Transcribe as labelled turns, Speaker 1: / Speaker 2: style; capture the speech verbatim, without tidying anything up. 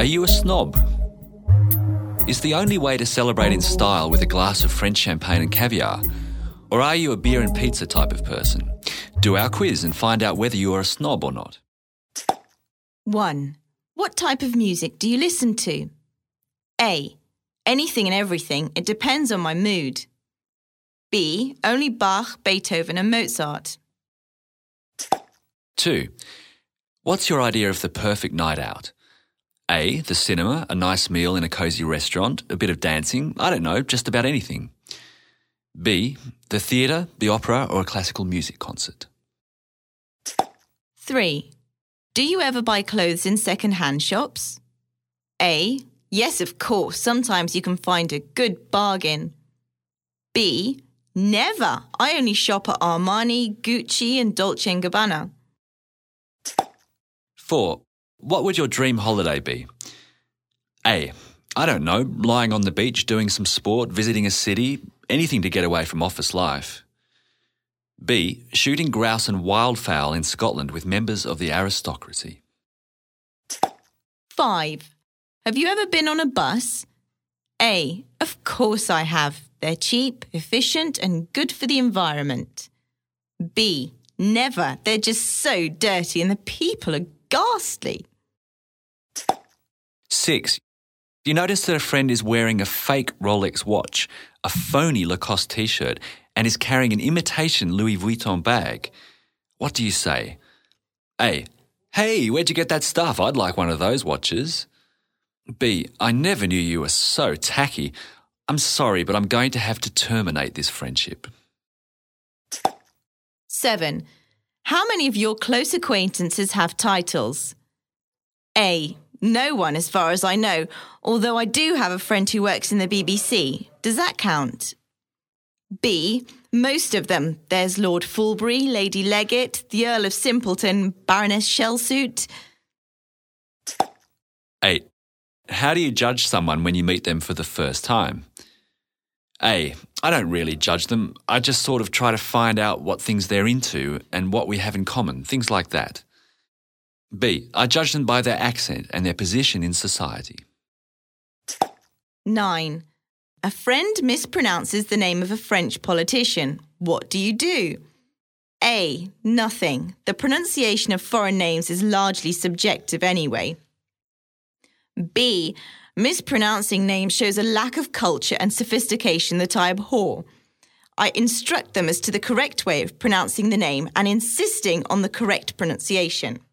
Speaker 1: Are you a snob? Is the only way to celebrate in style with a glass of French champagne and caviar? Or are you a beer and pizza type of person? Do our quiz and find out whether you are a snob or not.
Speaker 2: one. What type of music do you listen to? A. Anything and everything. It depends on my mood. B. Only Bach, Beethoven and Mozart.
Speaker 1: two. What's your idea of the perfect night out? A. The cinema, a nice meal in a cosy restaurant, a bit of dancing, I don't know, just about anything. B. The theatre, the opera or a classical music concert.
Speaker 2: three. Do you ever buy clothes in second-hand shops? A. Yes, of course. Sometimes you can find a good bargain. B. Never. I only shop at Armani, Gucci and Dolce and Gabbana.
Speaker 1: four. What would your dream holiday be? A. I don't know, lying on the beach, doing some sport, visiting a city, anything to get away from office life. B. Shooting grouse and wildfowl in Scotland with members of the aristocracy.
Speaker 2: five. Have you ever been on a bus? A. Of course I have. They're cheap, efficient and good for the environment. B. Never. They're just so dirty and the people are ghastly.
Speaker 1: six. You notice that a friend is wearing a fake Rolex watch, a phony Lacoste t-shirt, and is carrying an imitation Louis Vuitton bag. What do you say? A. Hey, where'd you get that stuff? I'd like one of those watches. B. I never knew you were so tacky. I'm sorry, but I'm going to have to terminate this friendship.
Speaker 2: seven. How many of your close acquaintances have titles? A. No one, as far as I know, although I do have a friend who works in the B B C. Does that count? B. Most of them. There's Lord Fulbury, Lady Leggett, the Earl of Simpleton, Baroness Shellsuit.
Speaker 1: eight. How do you judge someone when you meet them for the first time? A. I don't really judge them. I just sort of try to find out what things they're into and what we have in common, things like that. B. I judge them by their accent and their position in society.
Speaker 2: nine. A friend mispronounces the name of a French politician. What do you do? A. Nothing. The pronunciation of foreign names is largely subjective anyway. B. Mispronouncing names shows a lack of culture and sophistication that I abhor. I instruct them as to the correct way of pronouncing the name and insisting on the correct pronunciation.